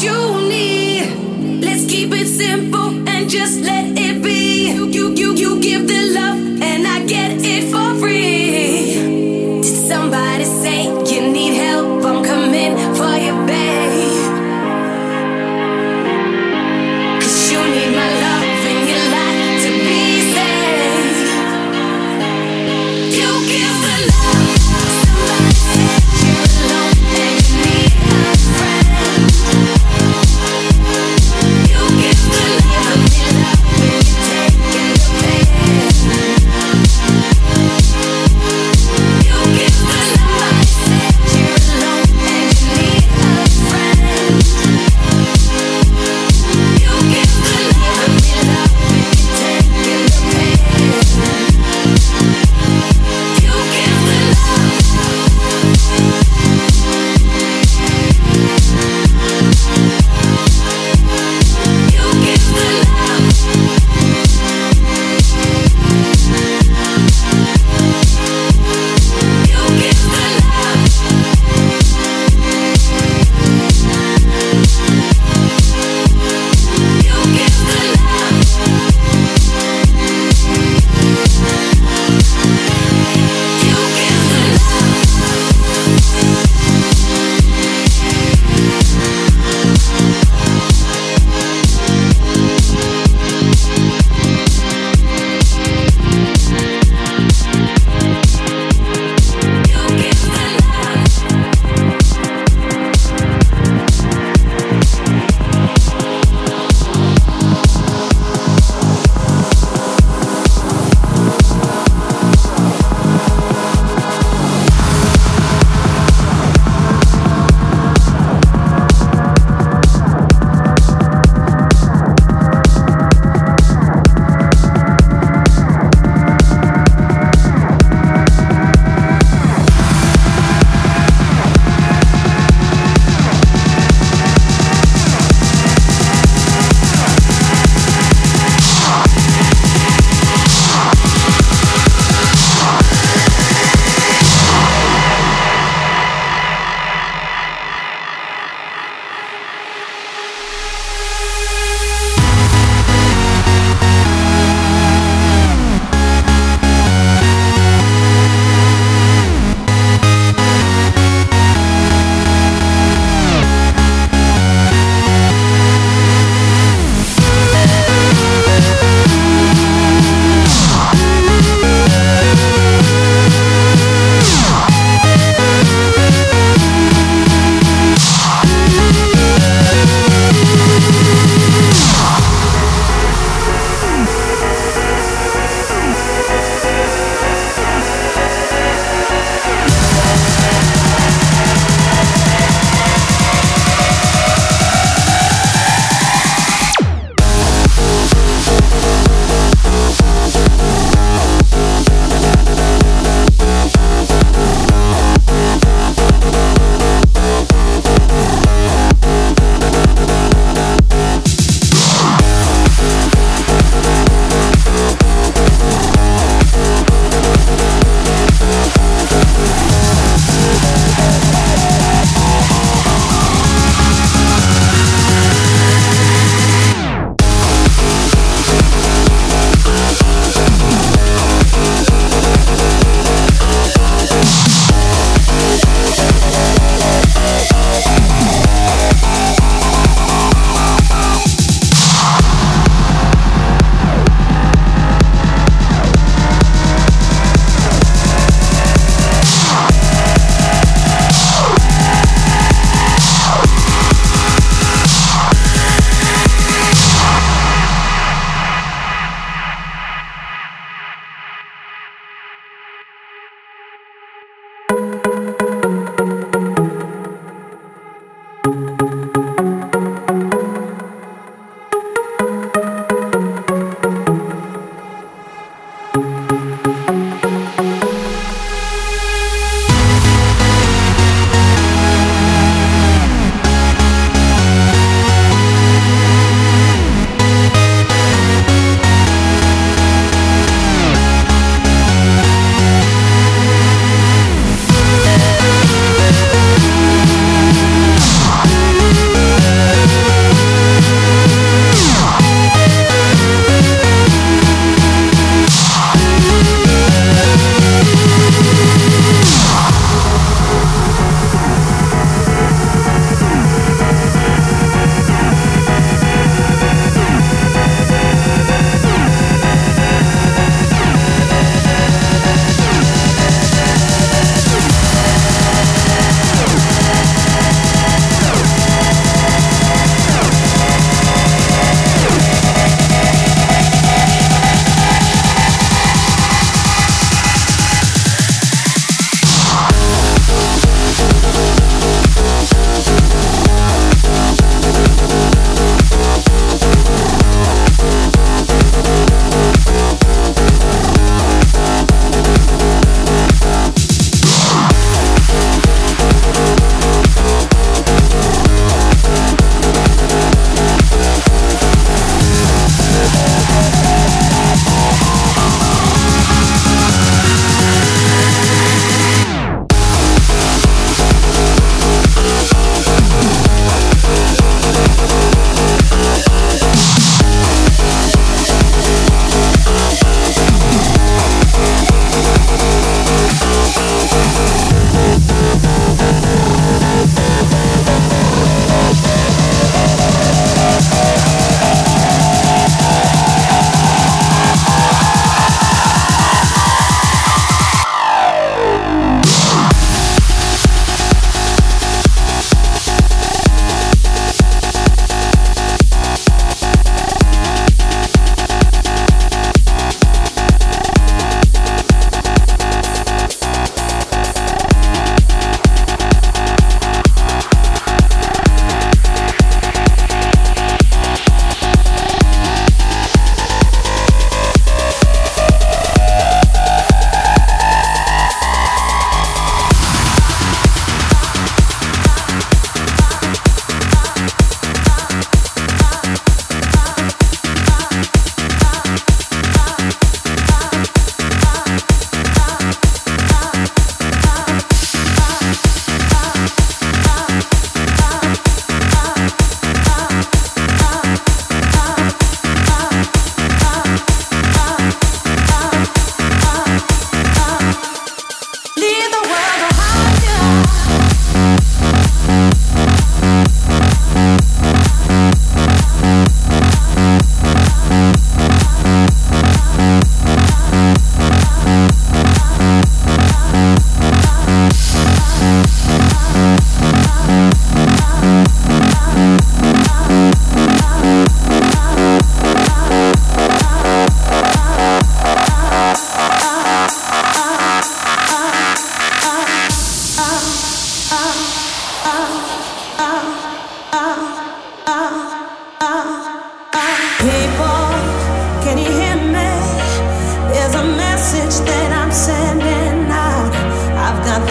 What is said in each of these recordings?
you need. Let's keep it simple and just let it be. You give the love and I get it for free. Did somebody say you need help? I'm coming for you, babe. 'Cause you need my love in your life to be safe. You give the love. Somebody said you're alone and you need a friend. You give the love and you take the pain. You give the somebody said you're alone and you need a friend. You give the love and you take the pain. You give the love. You give the love. You give the love. You give the love. You give the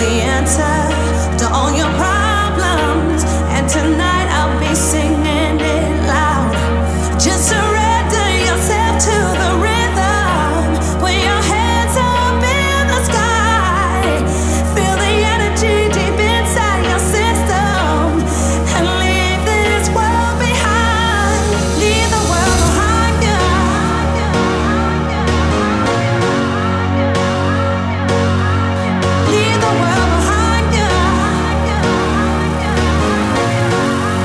the answer to all your problems. And tonight I'll be singing it loud. Just surrender yourself to the rhythm. Put your hands up in the sky. Feel the energy deep inside your system. And leave this world behind. Leave the world behind you. Leave the world behind you.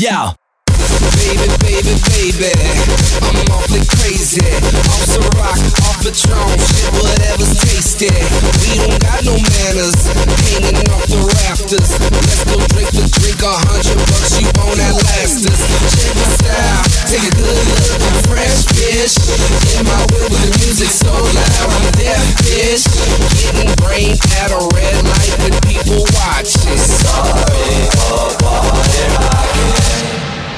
Yo. Baby, I'm awfully crazy. Off some rock, off Patron, shit, whatever's tasty. We don't got no manners, hanging off the rafters. Let's go drink for drink, $100, you won't outlast us. Check my style, take a good look, I'm fresh, bitch. In my whip with the music so loud, I'm deaf, bitch. Getting brain at a red light with people watching. Sorry for party rocking.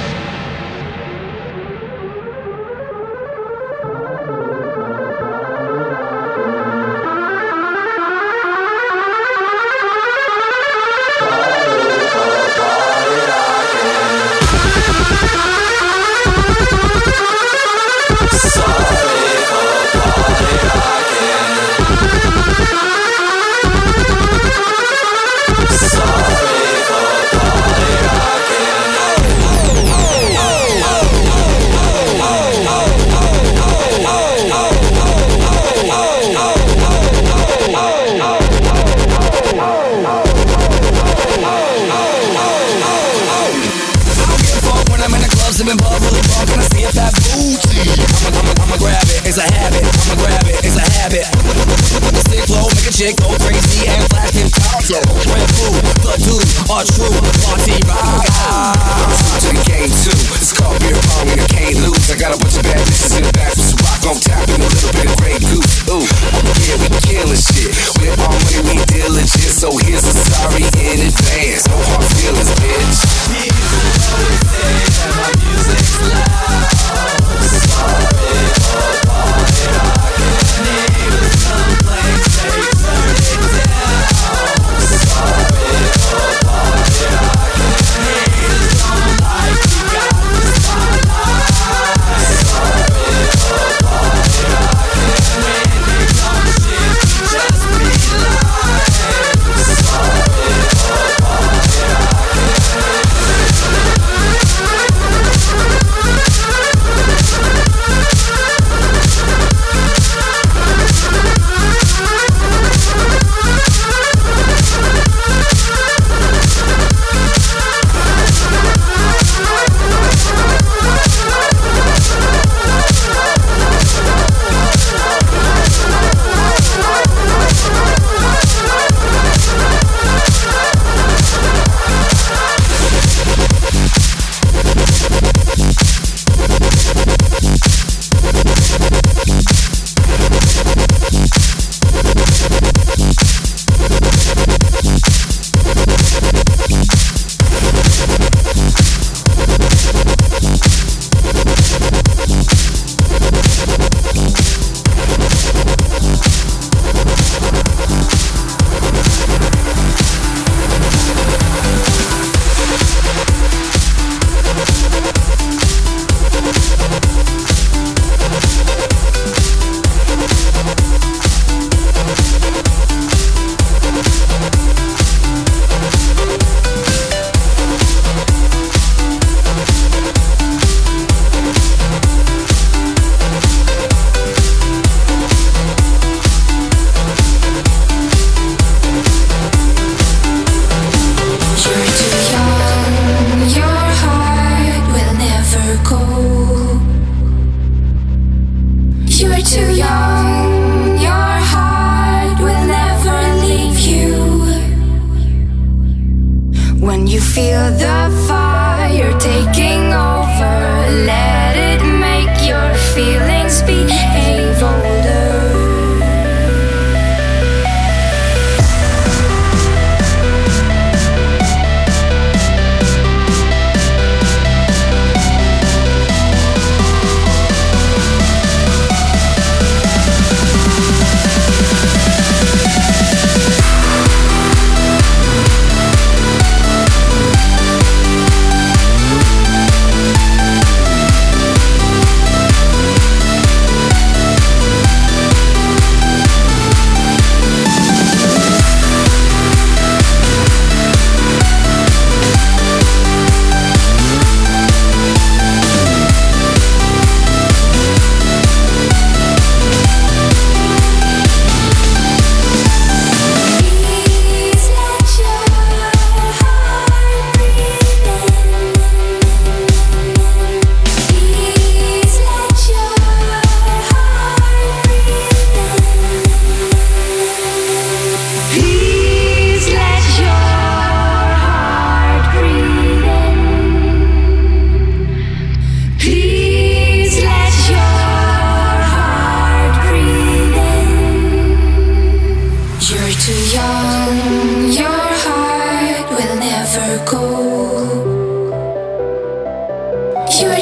I'ma grab it, it's a habit. I'ma grab it, it's a habit. With the stick flow, make a chick go crazy and flash him top. Red food, the dude are true. Party rock. To the game too. It's called beer pong and I can't lose. I got a bunch of bad bitches in the back with some rock on tap and a little bit of Grey Goose. Ooh, yeah, we killing shit. With all money, we diligent. So here's a sorry in advance. No hard feelings, bitch. People always say that my music's loud. Sorry for party rocking. Neighbors complain, say turn it down. Sorry for party rocking.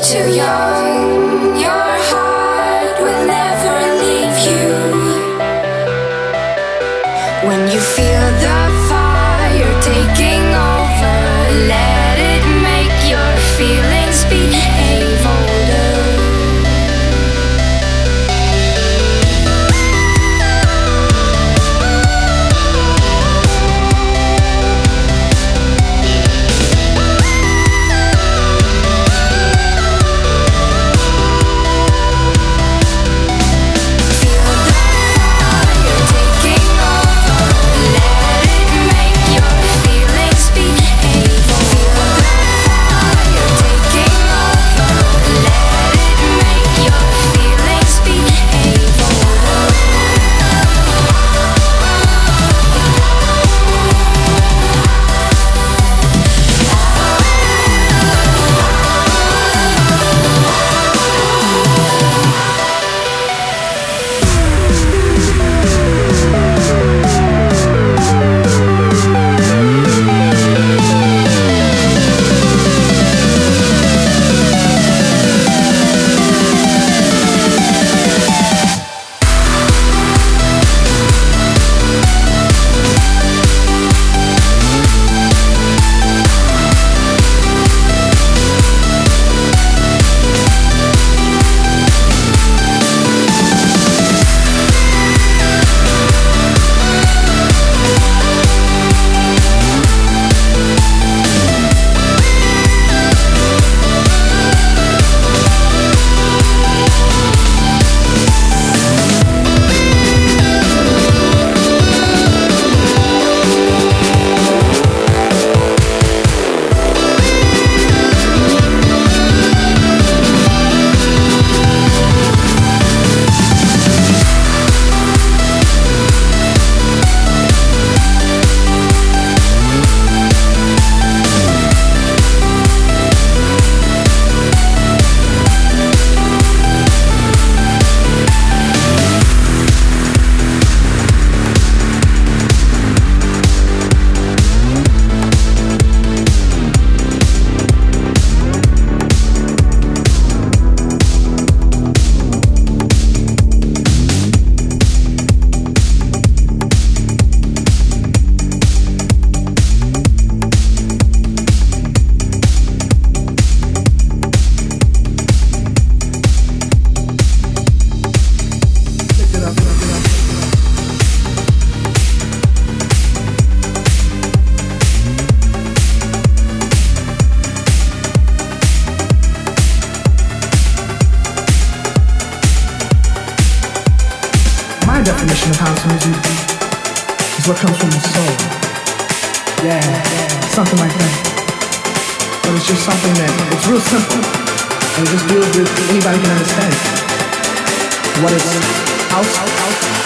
too young, your heart will never leave you. When you feel the fire taking over, let it make your feelings behave older. Definition of house music is what comes from the soul. Yeah, something like that. But it's just something that it's real simple and it just deals with anybody can understand. What is house?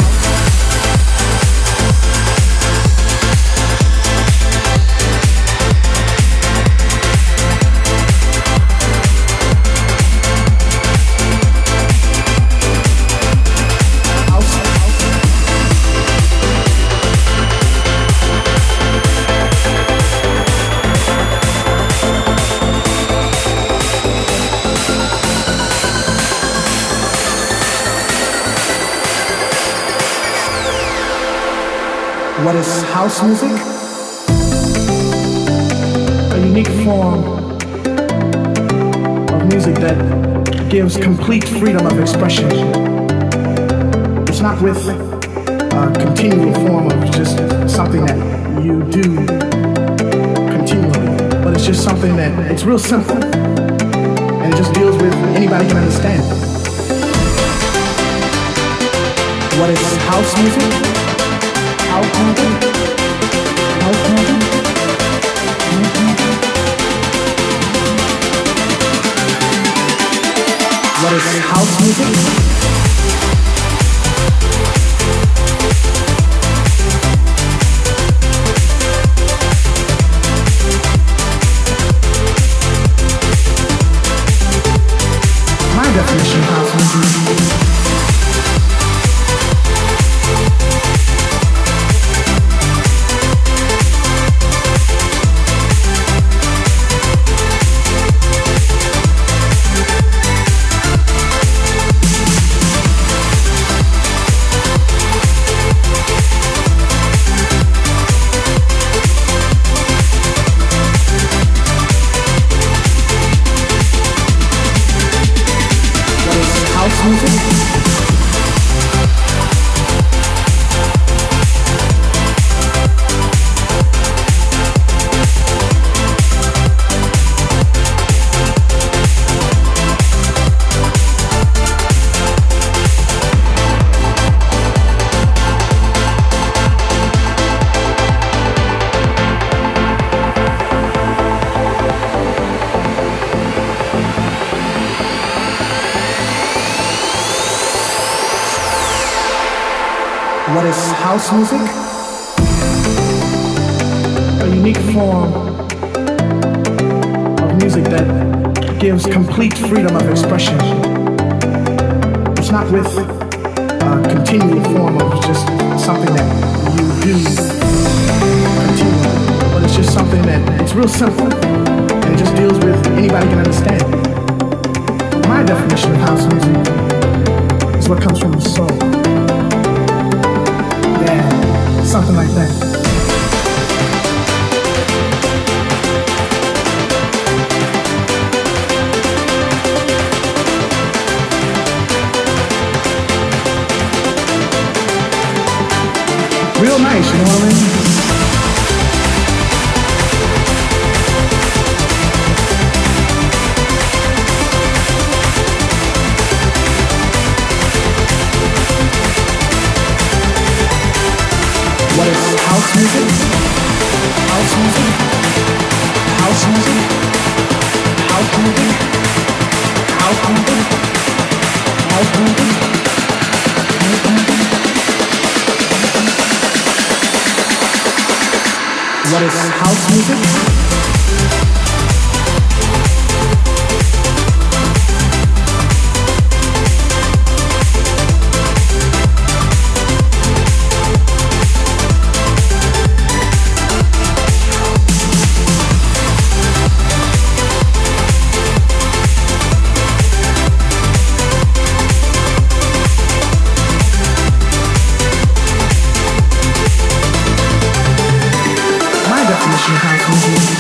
What is house music? A unique form of music that gives complete freedom of expression. It's not with a continual form of just something that you do continually, but it's just something that it's real simple and it just deals with anybody can understand. What is house music? What is house music? My definition of house music. What is house music? A unique form of music that gives complete freedom of expression. It's not with a continual form of just something that you do continually, but it's just something that it's real simple and it just deals with anybody can understand. My definition of house music is what comes from the soul. Yeah, something like that. Real nice, you know what I mean? What is house music? House music? House music? House music? House music? House music? What is house music? House music.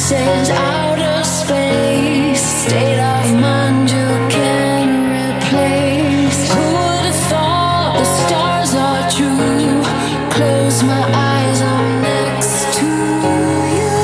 Sends outer space, state of mind you can replace. Who would have thought the stars are true? Close my eyes, I'm next to you.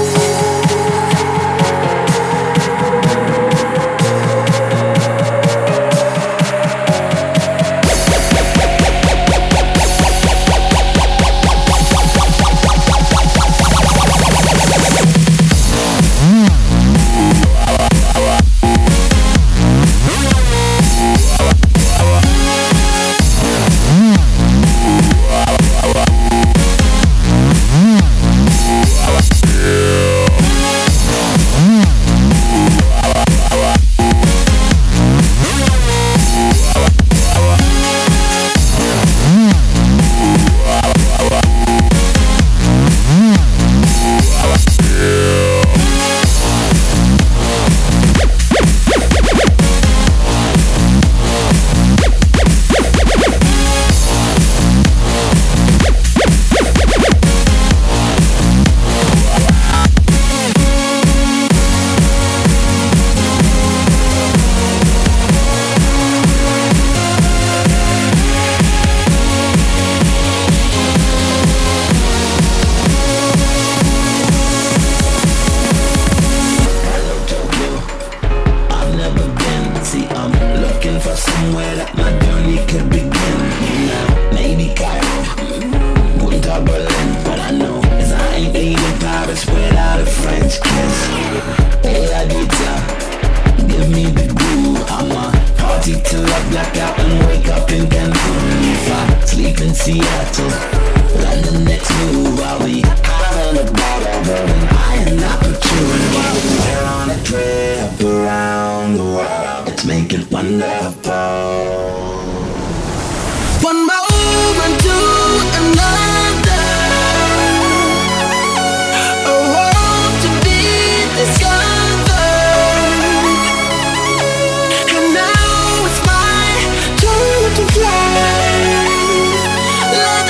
Fly,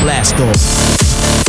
Blast off.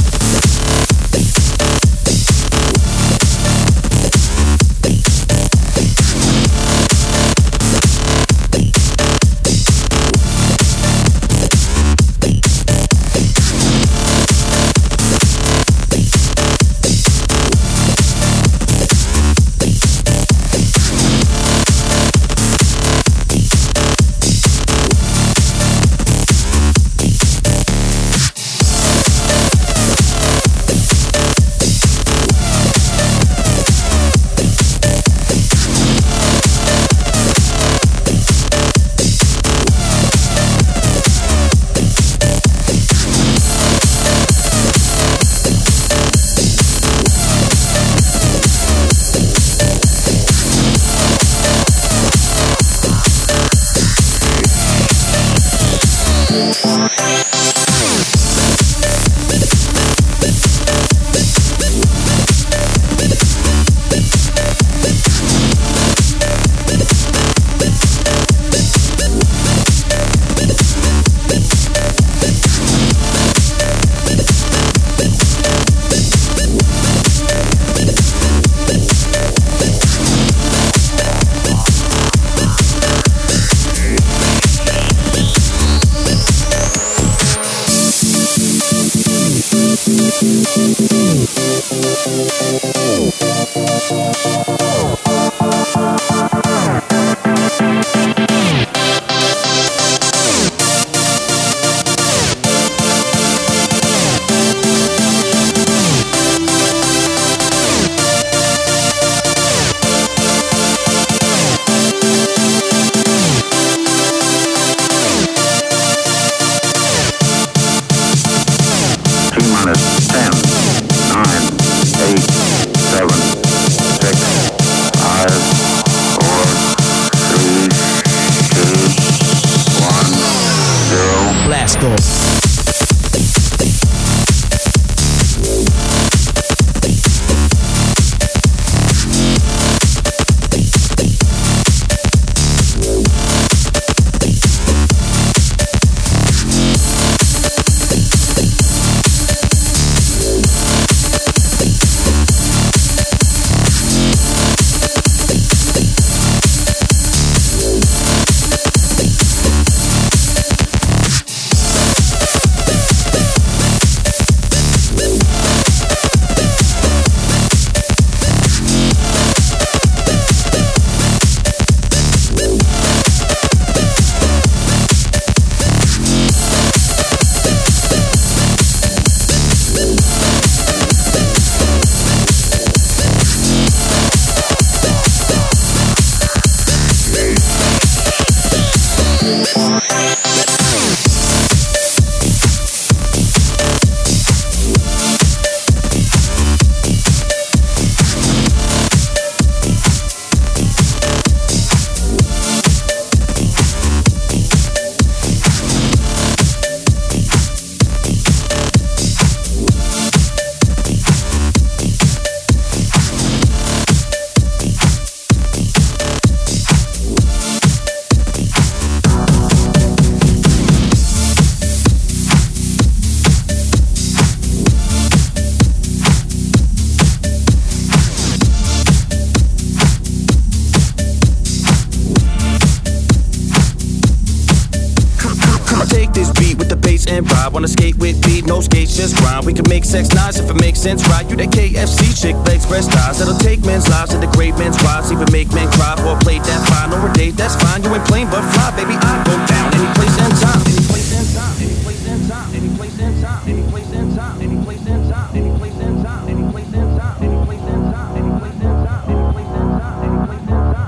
Wanna skate with beat, no skates, just grind. We can make sex nice if it makes sense, right? You that KFC chick, legs, breast thighs. That'll take men's lives and degrade men's wives. Even make men cry for a plate, that's fine. Or a date, that's fine. You ain't plain but fly, baby. I go down any place and time. Any place and time. Any place and time. Any place and time. Any place and time. Any place and time. Any place and time. Any place and time. Any place and time. Any place and time. Any place and time. Any place and time. Any place and time. Any place and time. Any place and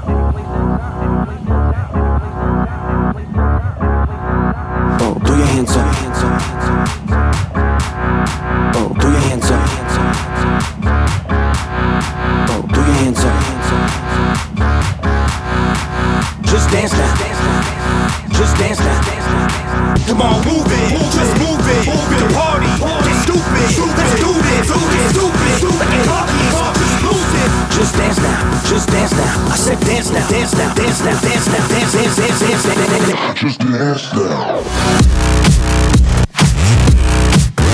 time. Oh, throw your hands up. Oh, throw your hands up. Oh, throw your hands up. Just dance now. Just dance now. Come on, move it. Just move it. The party. Get stupid. Let's do this. Stupid. Like a party. Just lose it. Just dance now. Just dance now. I said dance now. Dance now. Dance now. Dance now. Dance, dance, dance, dance, dance, dance. Just dance now.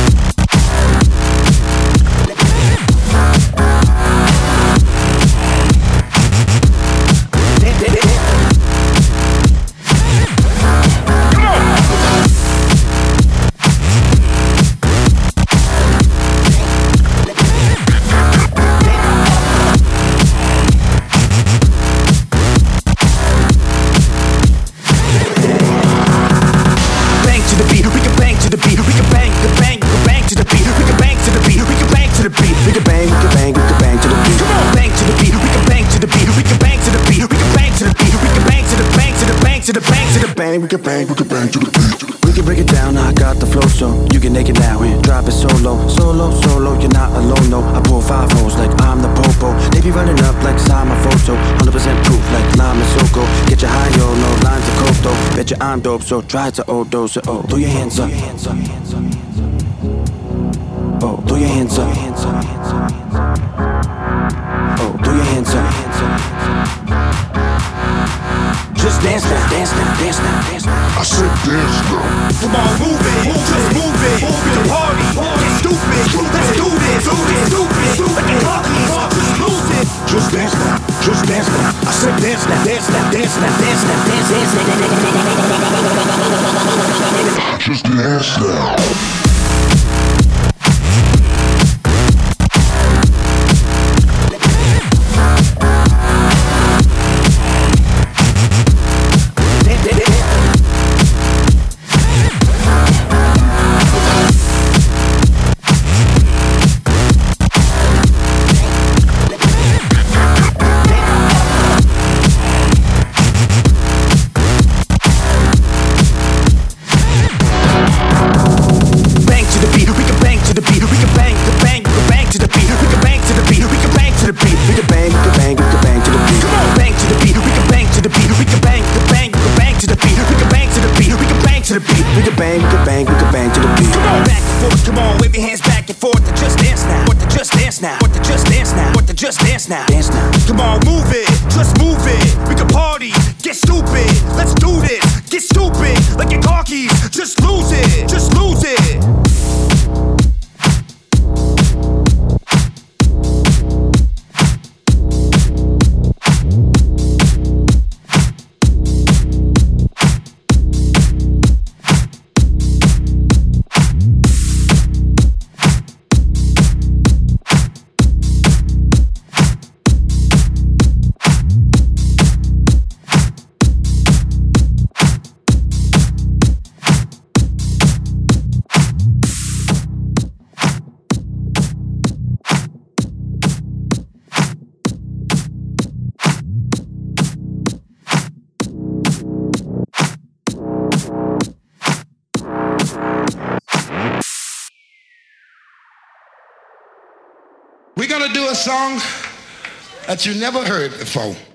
to the beat, we can bang to the beat, we can bang, we can bang, we can bang to the beat, we can bang to the beat, we can bang to the beat, we can bang, we can bang, we can bang to the beat. Come on, bang to the beat, we can bang to the beat, we can bang to the beat, we can bang to the beat, we can bang to the bang to the bang to the bang to the bang, we can bang to the beat. We can break it down, I got the flow, so you can take it now and drop it solo, solo, solo. You're not alone, no. I pull 5 holes like I'm the popo. They be running up like sign my photo. 100% proof like lime and Soko. Get your high, yo, no lines of coke though. Bet you I'm dope, so try to overdose it. Oh, throw your hands up. Oh, throw your hands up. Oh, throw your hands up. Just dance now, dance now, dance now, dance now. I said dance now. Come on, move it, just move it. We can party, get stupid. Let's do this, stupid. Like a party, just lose it. Just dance now, just dance now. I said dance now, dance now, dance now, dance now, dance now. Just dance now. Now. Dance now. Come on, move it, just move it. We can party, get stupid. Let's do this, get stupid. Like your car keys, just lose it, just lose it. We're gonna do a song that you never heard before.